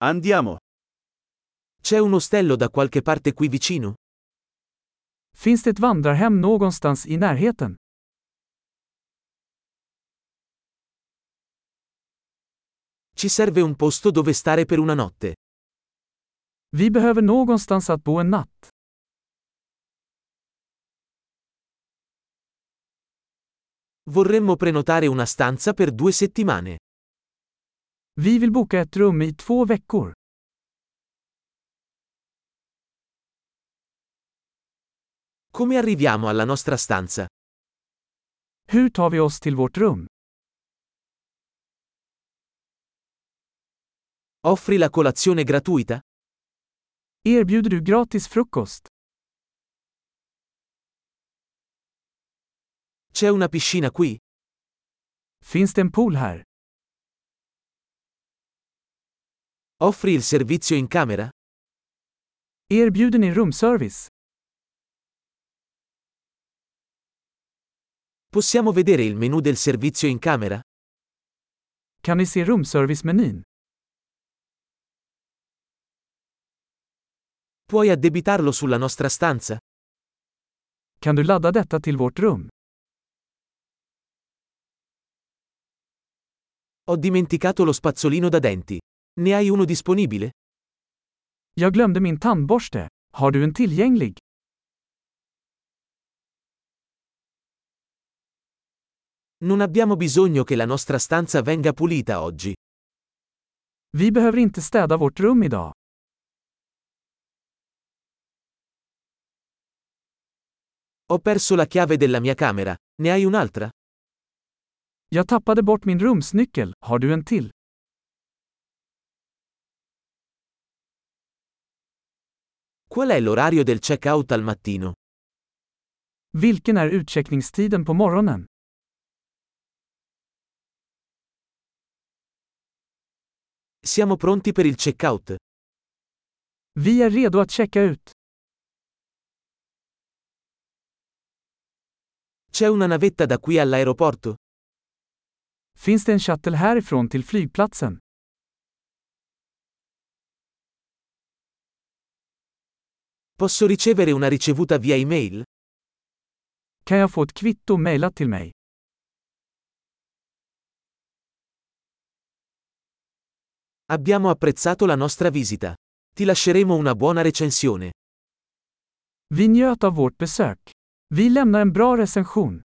Andiamo. C'è un ostello da qualche parte qui vicino? Finns det ett vandrarhem någonstans i närheten? Ci serve un posto dove stare per una notte. Vi behöver någonstans att bo en natt. Vorremmo prenotare una stanza per 2 settimane. Vi vill boka ett rum i 2 veckor. Come arriviamo alla nostra stanza? Hur tar vi oss till vårt rum? Offri la colazione gratuita? Erbjuder du gratis frukost? C'è una piscina qui? Finns det en pool här? Offri il servizio in camera? Erbjuder ni rumservice? Possiamo vedere il menu del servizio in camera? Kan ni se rumservice-menyn? Puoi addebitarlo sulla nostra stanza? Kan du ladda detta till vårt rum? Ho dimenticato lo spazzolino da denti. Ne hai uno disponibile? Jag glömde min tandborste. Har du en tillgänglig? Non abbiamo bisogno che la nostra stanza venga pulita oggi. Vi behöver inte städa vårt rum idag. Ho perso la chiave della mia camera. Ne hai un'altra? Jag tappade bort min rumsnyckel. Har du en till? Qual è l'orario del check-out al mattino? Vilken är utcheckningstiden på morgonen? Siamo pronti per il check-out. Vi är redo att checka ut. C'è una navetta da qui all'aeroporto? Finns det en shuttle härifrån till flygplatsen? Posso ricevere una ricevuta via email? Kan jag få ett kvitto mejlat till mig? Abbiamo apprezzato la nostra visita. Ti lasceremo una buona recensione. Vi njöt av vårt besök. Vi lämnar en bra recension.